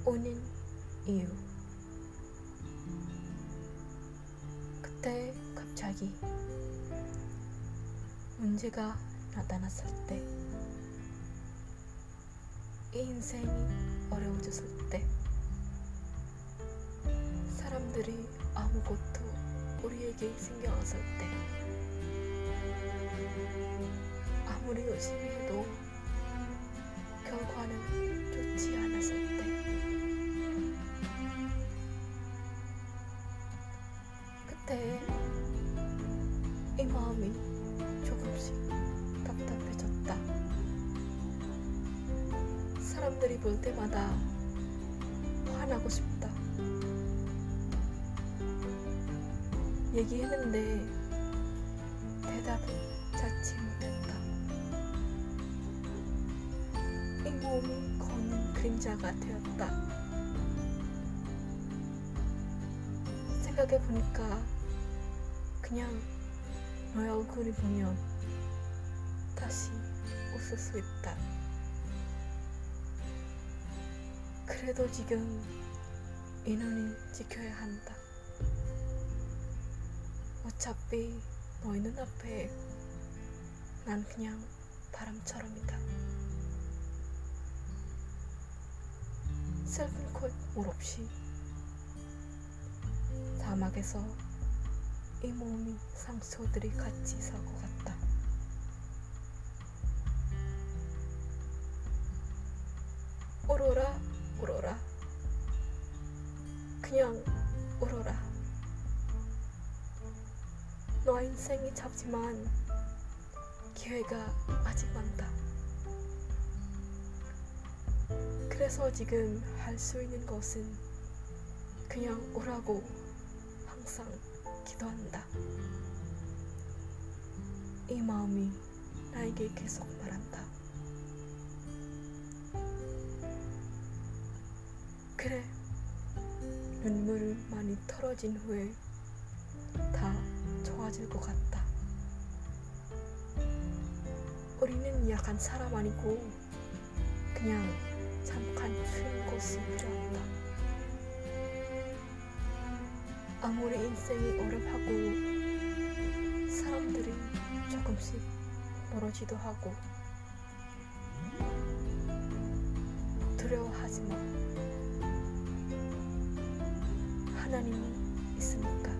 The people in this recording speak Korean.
오는 이유. 그때 갑자기 문제가 나타났을 때, 이 인생이 어려워졌을 때, 사람들이 아무것도 우리에게 신경 안 쓸 때, 아무리 열심히 해도 결과는 좋지 않았을 때, 그때 이 마음이 조금씩 답답해졌다. 사람들이 볼 때마다 화나고 싶다. 얘기했는데 대답은 찾지 못했다. 이 몸이 걷는 그림자가 되었다. 생각해보니까 그냥 너의 얼굴을 보면 다시 웃을 수 있다. 그래도 지금 이 눈을 지켜야 한다. 어차피 너의 눈앞에 난 그냥 바람처럼이다. 슬픈 콧물 없이 사막에서 이 몸이 상처들이 같이 살 것 같다. 울어라, 울어라. 그냥 울어라. 너의 인생이 짧지만 기회가 아직 많다. 그래서 지금 할 수 있는 것은 그냥 오라고 항상 기도한다. 이 마음이 나에게 계속 말한다. 그래, 눈물을 많이 털어진 후에 다 좋아질 것 같다. 우리는 약한 사람 아니고 그냥 잠깐 쉬는 곳이 필요하다. 아무리 인생이 어렵하고 사람들이 조금씩 멀어지도 하고 두려워하지 마. 하나님이 있으니까.